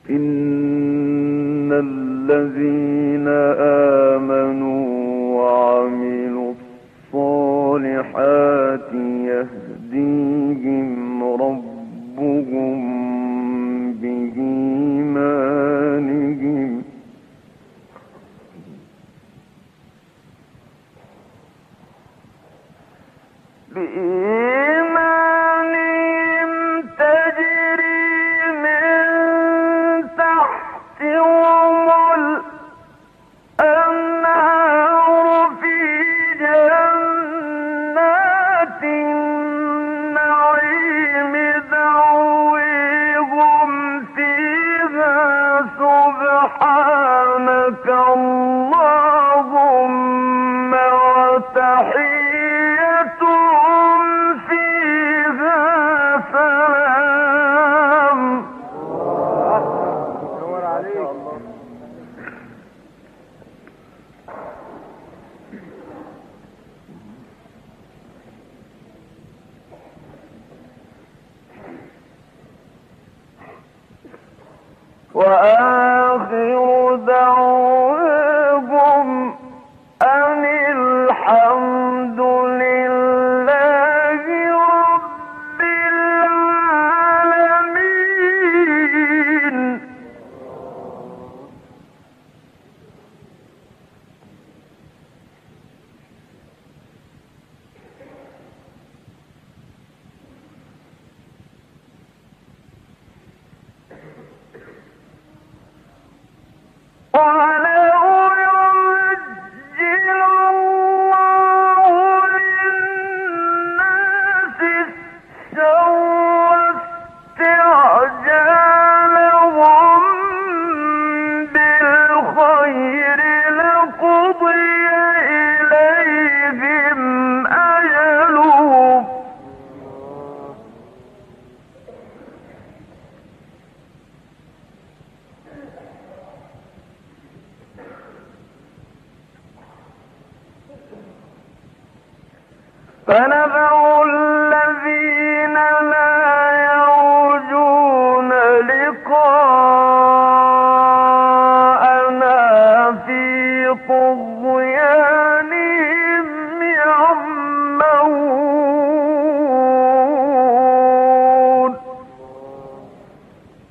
إن الذين آمنوا وعملوا الصالحات يهديهم ربهم بإيمانهم تجري من تحتهم الأنهار في جنات النعيم دعويهم فيها سبحانك اللهم وتحيتهم فيها سلام. وآخر دعواهم أن الحمد لله رب العالمين. ولو يعجل الله للناس الشر استعجالهم بالخير لقضي إليهم أجلهم فنذر